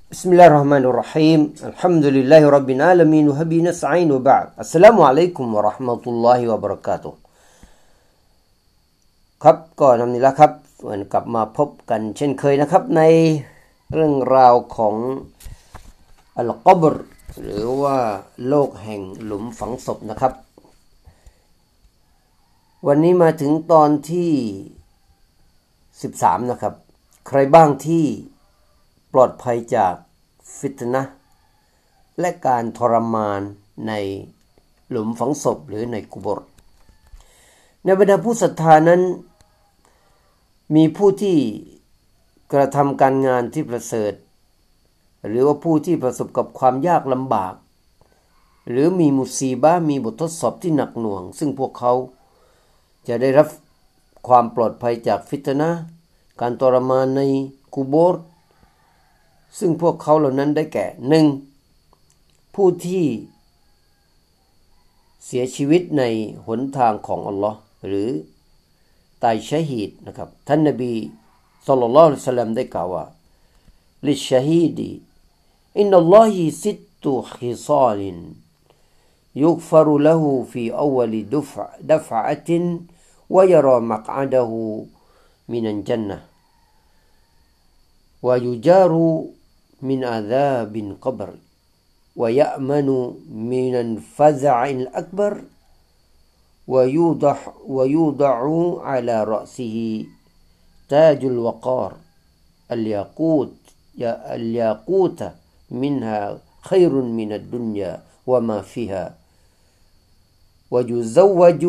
بسم الله الرحمن الرحيم الحمد لله رب العالمين وبه نستعين وبعد السلام عليكم ورحمة الله وبركاته ครับก็นำนี้ละครับกลับมาพบกันเช่นเคยนะครับในเรื่องราวของอัลกับรหรือว่าโลกแห่งหลุมฝังศพนะครับวันนี้มาถึงตอนที่13นะครับใครบ้างที่ปลอดภัยจากฟิตนะห์และการทรมานในหลุมฝังศพหรือในกุโบร์ในบรรดาผู้ศรัทธานั้นมีผู้ที่กระทำการงานที่ประเสริฐหรือว่าผู้ที่ประสบกับความยากลำบากหรือมีมุซีบะห์มีบททดสอบที่หนักหน่วงซึ่งพวกเขาจะได้รับความปลอดภัยจากฟิตนะห์การทรมานในกุโบร์ซึ่งพวกเขาเหล่านั้นได้แก่ 1. ผู้ที่เสียชีวิตในหนทางของอัลลอฮ์หรือตายชะฮีดนะครับท่านนบีศ็อลลัลลอฮุอะลัยฮิวะซัลลัมได้กล่าวว่าลิชะฮีดีอินนัลลอฮิซิตตุขิซาลินยุฆฟรุละฮูฟีอวัลดัฟอะตินวะยะรอมักอดะฮูมินัลญันนะฮ์วะยุจารุمن عذاب القبر ويأمن من الفزع الأكبر ويوضع على رأسه تاج الوقار الياقوت منها خير من الدنيا وما فيها ويزوج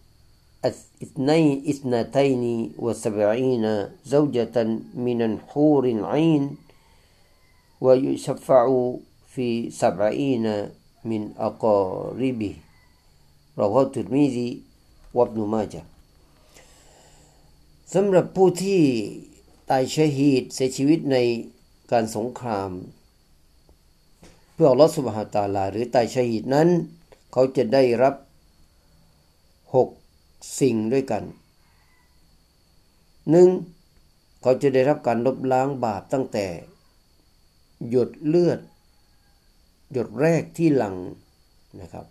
72 زوجة من الحور العين ويشفع في 70 من أقاربه رواه الترمذي وابن ماجه สำหรับผู้ที่ตายชะฮีดเสียชีวิตในการสงครามเพื่ออัลเลาะห์ซุบฮานะฮูวะตะอาลาหรือตายชะฮีดนั้นเขาจะได้รับ6สิ่งด้วยกัน 1. เขาจะได้รับการลบล้างบาปตั้งแต่หยดเลือดหยดแรกที่หลั่งนะครับ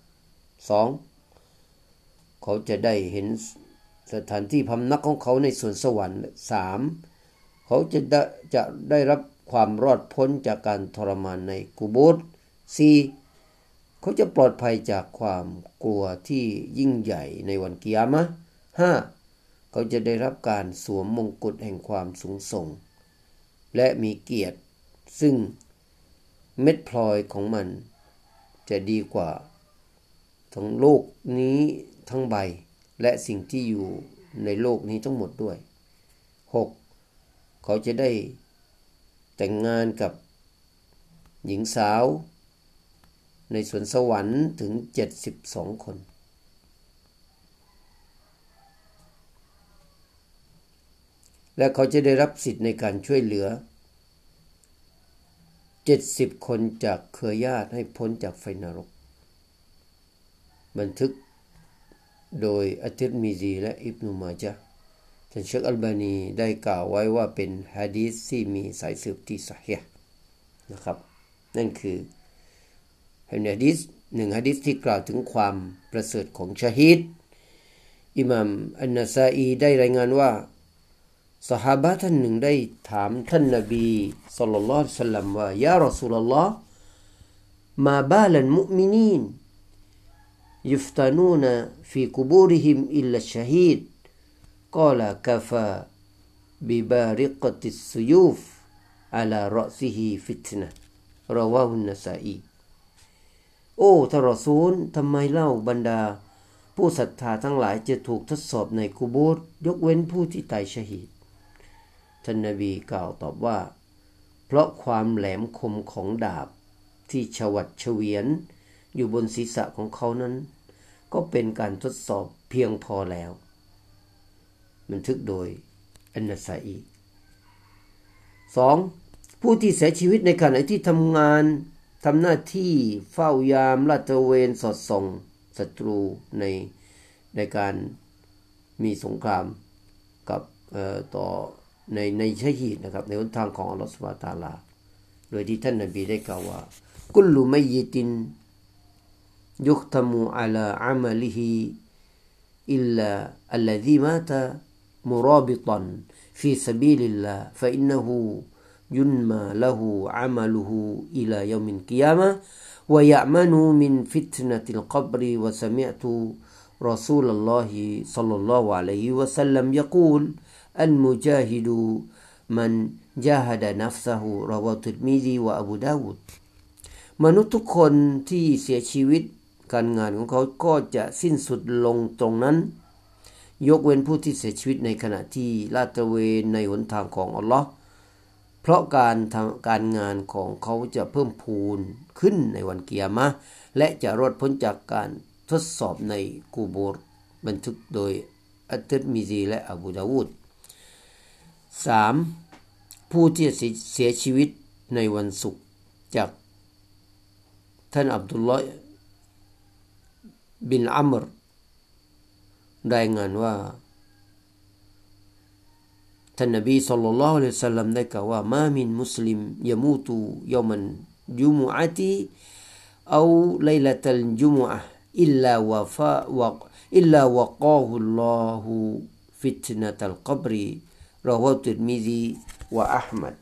2. เขาจะได้เห็นสถานที่พำนักของเขาในสวนสวรรค์ 3. เขาจะได้รับความรอดพ้นจากการทรมานในกุโบร์ 4. เขาจะปลอดภัยจากความกลัวที่ยิ่งใหญ่ในวันกิยามะห์ 5. เขาจะได้รับการสวมมงกุฎแห่งความสูงส่งและมีเกียรติซึ่งเม็ดพลอยของมันจะดีกว่าทั้งโลกนี้ทั้งใบและสิ่งที่อยู่ในโลกนี้ทั้งหมดด้วย 6. เขาจะได้แต่งงานกับหญิงสาวในสวนสวรรค์ถึง72 คนและเขาจะได้รับสิทธิ์ในการช่วยเหลือ70 คนจากเครือญาติให้พ้นจากไฟนรกบันทึกโดยอัตติรมิซีและอิบนุมาญะห์ท่านเชคอัลบานีได้กล่าวไว้ว่าเป็นหะดีษที่มีสายสืบที่ซอฮีฮ์นะครับนั่นคือหะดีษ1หะดีษที่กล่าวถึงความประเสริฐของชะฮีดอิหม่ามอันนะซาอีได้รายงานว่าซอฮาบะห์ท่านหนึ่งได้ถามท่านนบีศ็อลลัลลอฮุอะลัยฮิวะซัลลัมว่ายารอซูลุลลอฮ์มาบาลัลมุอ์มินีนยุฟตานูนฟีกุบูริฮิมอิลลัชชะฮีดกาลกะฟาบิบาริกะติสซุยูฟอะลารอซิฮิฟิตนะห์รอวาฮุนนะซาอีโอ้ท่านรอซูลทำไมเล่าบรรดาผู้ศรัทธาทั้งหลายจะถูกทดสอบในกุโบร์ยกเว้นผู้ที่ตายชะฮีดท่านนบีกล่าวตอบว่าเพราะความแหลมคมของดาบที่ฉวัดเฉวียนอยู่บนศีรษะของเขานั้นก็เป็นการทดสอบเพียงพอแล้วบันทึกโดยอันนะซาอี 2. ผู้ที่เสียชีวิตในขณะที่ทำหน้าที่เฝ้ายามลาดตระเวนสอดส่องศัตรูในการมีสงครามกับต่อในชะฮีดนะครับในหนทางของอัลเลาะห์ซุบฮานะฮูวะตะอาลาโดยที่ท่านนบีได้กล่าวว่ากุลลุมัยยิตินยุคตมูอะลาอะมะลิฮิอิลลาอัลลซีมาตะมุราบิตันฟีซะบีลิลลาฮ์ฟะอินนะฮูยุนมาละฮูอะมะลุฮูอิลายอมิลกิยามะฮ์วะยะมะนูมินฟิตนะติลกับรวะซะมิอตุرسول الله صلى الله عليه وسلم يقول المجاهد من جاهد نفسه ราวาตุรมิซีวะอบูดาวูดมนุษย์ทุกคนที่เสียชีวิตการงานของเขาก็จะสิ้นสุดลงตรงนั้นยกเว้นผู้ที่เสียชีวิตในขณะที่ลาดตระเวนในหนทางของอัลลอฮ์เพราะการงานของเขาจะเพิ่มพูนขึ้นในวันกิยามะห์และจะรอดพ้นจากการทดสอบในกูโบร์บันทึกโดยอัตติรมิซีและอบูดาวูด 3. ผู้ที่เสียชีวิตในวันศุกร์จากท่านอับดุลลอฮ์บินอัมรรายงานว่าท่านนบีศ็อลลัลลอฮุอะลัยฮิวะซัลลัมได้กล่าวว่ามามินมุสลิมยะมูตุยอมันจุมุอะติเอาไลละตัลจุมุอะห์อิลลาวะกาฮุลลอฮุฟิตนะตัลกับรราวาตุรมิซีวะอะห์มัด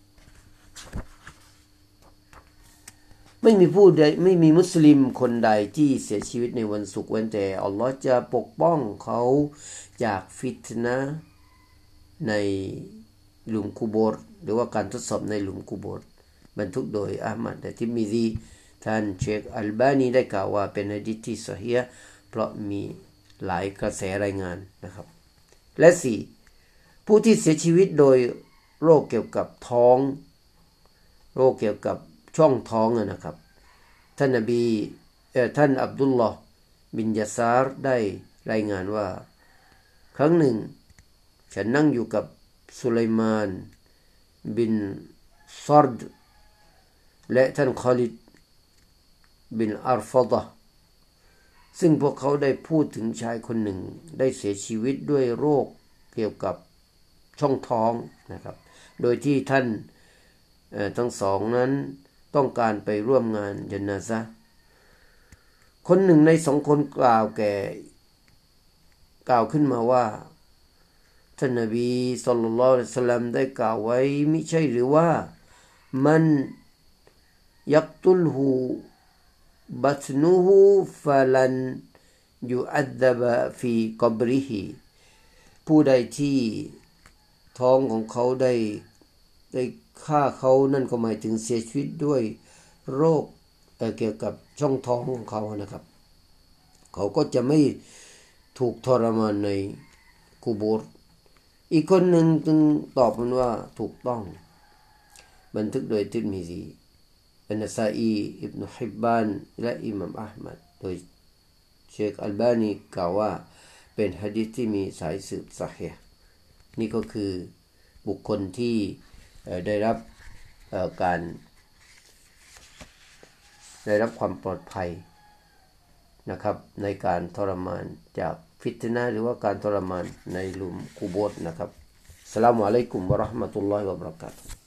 ไม่มีมุสลิมคนใดที่เสียชีวิตในวันศุกร์เว้นแต่อัลลอฮ์จะปกป้องเขาจากฟิตนะห์ในหลุมกุโบร์หรือว่าการทดสอบในหลุมกุโบร์บรรทุกโดยอะห์มัดและทิรมิซีท่านเชคอัลบานีได้กล่าวว่าเป็นหะดีษที่ซอฮีฮ์เพราะมีหลายกระแสรายงานนะครับและ 4. ผู้ที่เสียชีวิตโดยโรคเกี่ยวกับท้องโรคเกี่ยวกับช่องท้องนะครับท่านอับดุลลอฮ์บินยาซาร์ได้รายงานว่าครั้งหนึ่งฉันนั่งอยู่กับสุไลมานบินซอรดและท่านคอลิดบินอัรฟะฎะห์ซึ่งพวกเขาได้พูดถึงชายคนหนึ่งได้เสียชีวิตด้วยโรคเกี่ยวกับช่องท้องนะครับโดยที่ท่านทั้งสองนั้นต้องการไปร่วมงานญะนาซะห์คนหนึ่งในสองคนกล่าวขึ้นมาว่าท่านนบีศ็อลลัลลอฮุอะลัยฮิวะซัลลัมได้กล่าวไว้มิใช่หรือว่ามันยักตุลฮูบัตนุฮูฟะลันยุอัดดะบะฟีกับริฮิผู้ใดที่ท้องของเขาได้ฆ่าเขานั่นก็หมายถึงเสียชีวิตด้วยโรคเกี่ยวกับช่องท้องของเขานะครับเขาก็จะไม่ถูกทรมานในกุโบร์อีกคนหนึ่งจึงตอบมันว่าถูกต้องบันทึกโดยติรมิซีอันนะซาอีอิบนุฮิบบานและอิหม่ามอะห์มัดโดยเชคอัลบานีกล่าวว่าเป็นหะดีษที่มีสายสืบซอฮีฮ์นี่ก็คือบุคคลที่ได้รับความปลอดภัยนะครับในการทรมานจากฟิตนะห์หรือว่าการทรมานในหลุมกุโบร์นะครับอัสสลามุอะลัยกุมวะเราะห์มะตุลลอฮิวะบะเราะกาตุฮ์